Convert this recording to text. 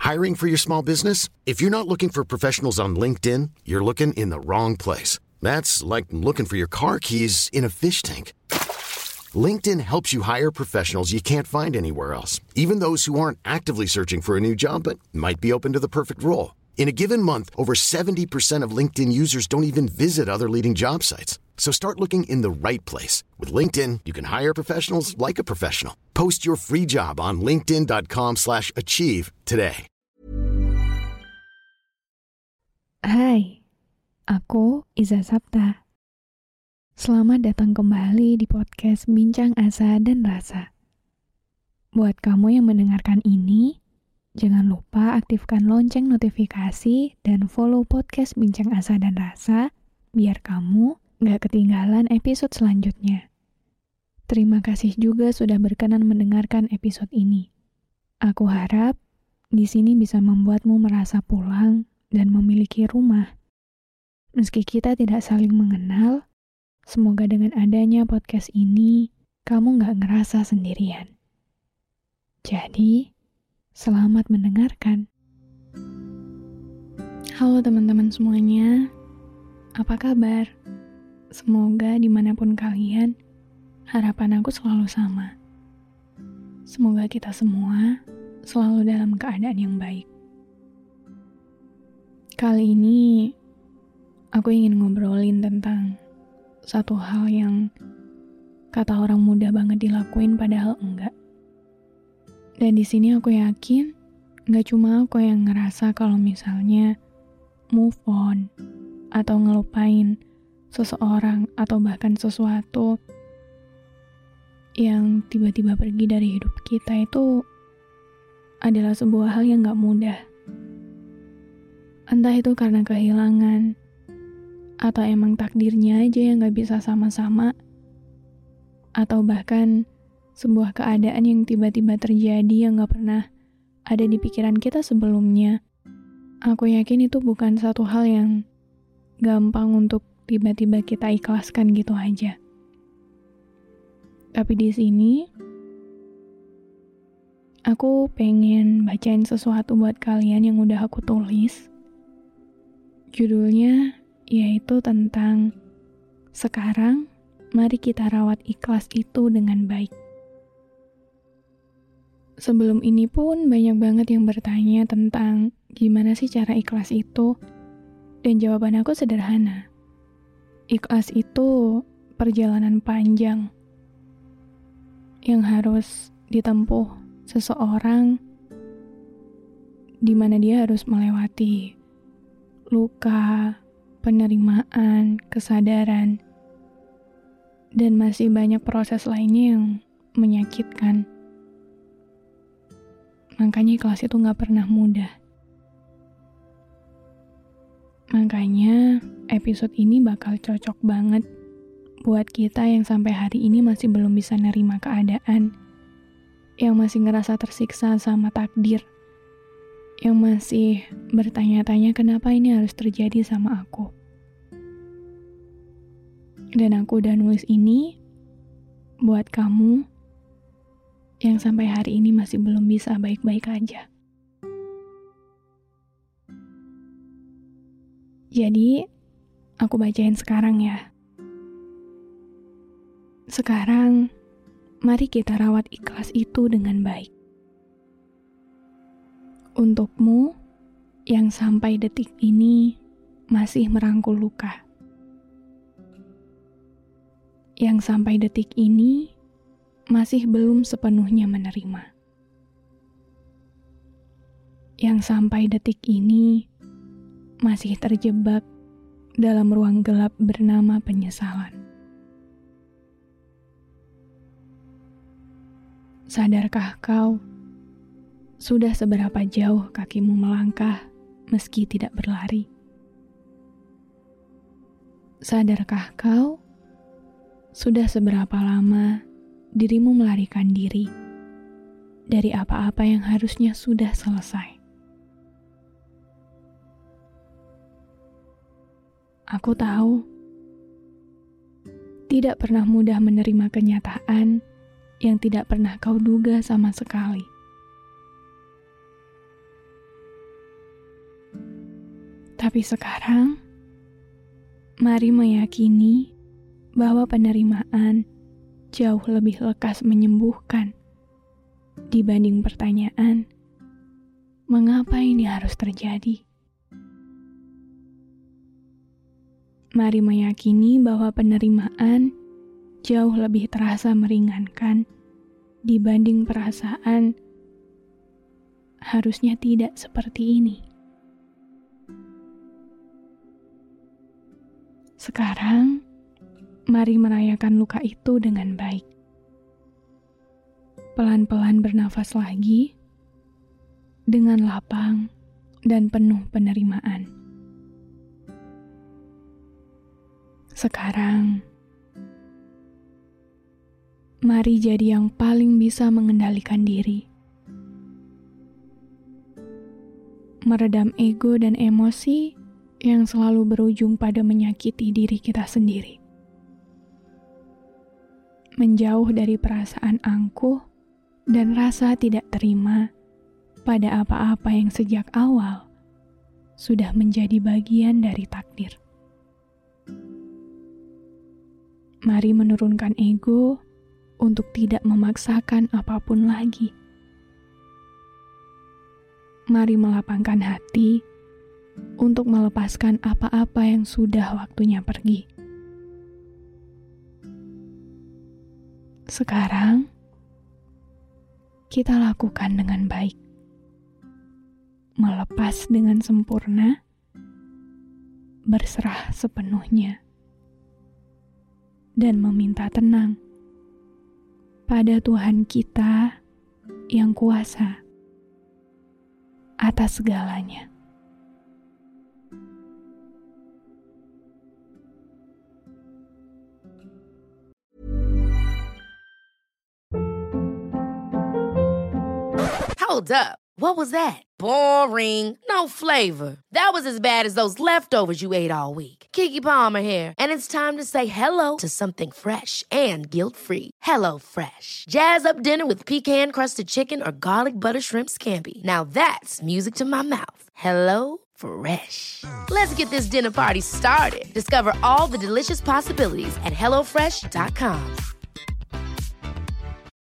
Hiring for your small business? If you're not looking for professionals on LinkedIn, you're looking in the wrong place. That's like looking for your car keys in a fish tank. LinkedIn helps you hire professionals you can't find anywhere else, even those who aren't actively searching for a new job but might be open to the perfect role. In a given month, over 70% of LinkedIn users don't even visit other leading job sites. So start looking in the right place. With LinkedIn, you can hire professionals like a professional. Post your free job on linkedin.com/achieve today. Hai, aku Iza Sapta. Selamat datang kembali di podcast Bincang Asa dan Rasa. Buat kamu yang mendengarkan ini, jangan lupa aktifkan lonceng notifikasi dan follow podcast Bincang Asa dan Rasa biar kamu gak ketinggalan episode selanjutnya. Terima kasih juga sudah berkenan mendengarkan episode ini. Aku harap di sini bisa membuatmu merasa pulang dan memiliki rumah. Meski kita tidak saling mengenal, semoga dengan adanya podcast ini, kamu gak ngerasa sendirian. Jadi, selamat mendengarkan. Halo teman-teman semuanya, apa kabar? Semoga dimanapun kalian, harapan aku selalu sama. Semoga kita semua selalu dalam keadaan yang baik. Kali ini, aku ingin ngobrolin tentang satu hal yang kata orang mudah banget dilakuin padahal enggak. Dan di sini aku yakin enggak cuma aku yang ngerasa kalau misalnya move on atau ngelupain seseorang atau bahkan sesuatu yang tiba-tiba pergi dari hidup kita itu adalah sebuah hal yang enggak mudah. Entah itu karena kehilangan atau emang takdirnya aja yang gak bisa sama-sama, atau bahkan sebuah keadaan yang tiba-tiba terjadi yang gak pernah ada di pikiran kita sebelumnya. Aku yakin itu bukan satu hal yang gampang untuk tiba-tiba kita ikhlaskan gitu aja. Tapi di sini, aku pengen bacain sesuatu buat kalian yang udah aku tulis. Judulnya yaitu tentang sekarang, mari kita rawat ikhlas itu dengan baik. Sebelum ini pun banyak banget yang bertanya tentang gimana sih cara ikhlas itu, dan jawaban aku sederhana. Ikhlas itu perjalanan panjang yang harus ditempuh seseorang, di mana dia harus melewati luka, penerimaan, kesadaran, dan masih banyak proses lainnya yang menyakitkan. Makanya ikhlas itu gak pernah mudah. Makanya episode ini bakal cocok banget buat kita yang sampai hari ini masih belum bisa nerima keadaan, yang masih ngerasa tersiksa sama takdir, yang masih bertanya-tanya kenapa ini harus terjadi sama aku. Dan aku udah nulis ini buat kamu yang sampai hari ini masih belum bisa baik-baik aja. Jadi, aku bacain sekarang ya. Sekarang, mari kita rawat ikhlas itu dengan baik. Untukmu yang sampai detik ini masih merangkul luka. Yang sampai detik ini masih belum sepenuhnya menerima. Yang sampai detik ini masih terjebak dalam ruang gelap bernama penyesalan. Sadarkah kau, sudah seberapa jauh kakimu melangkah meski tidak berlari? Sadarkah kau, sudah seberapa lama dirimu melarikan diri dari apa-apa yang harusnya sudah selesai? Aku tahu, tidak pernah mudah menerima kenyataan yang tidak pernah kau duga sama sekali. Tapi sekarang, mari meyakini bahwa penerimaan jauh lebih lekas menyembuhkan dibanding pertanyaan, mengapa ini harus terjadi? Mari meyakini bahwa penerimaan jauh lebih terasa meringankan dibanding perasaan harusnya tidak seperti ini. Sekarang, mari merayakan luka itu dengan baik. Pelan-pelan bernafas lagi, dengan lapang dan penuh penerimaan. Sekarang, mari jadi yang paling bisa mengendalikan diri. Meredam ego dan emosi yang selalu berujung pada menyakiti diri kita sendiri. Menjauh dari perasaan angkuh dan rasa tidak terima pada apa-apa yang sejak awal sudah menjadi bagian dari takdir. Mari menurunkan ego untuk tidak memaksakan apapun lagi. Mari melapangkan hati untuk melepaskan apa-apa yang sudah waktunya pergi. Sekarang, kita lakukan dengan baik. Melepas dengan sempurna, berserah sepenuhnya, dan meminta tenang pada Tuhan kita yang kuasa atas segalanya. Hold up. What was that? Boring. No flavor. That was as bad as those leftovers you ate all week. Keke Palmer here, and it's time to say hello to something fresh and guilt-free. Hello Fresh. Jazz up dinner with pecan-crusted chicken or garlic butter shrimp scampi. Now that's music to my mouth. Hello Fresh. Let's get this dinner party started. Discover all the delicious possibilities at HelloFresh.com.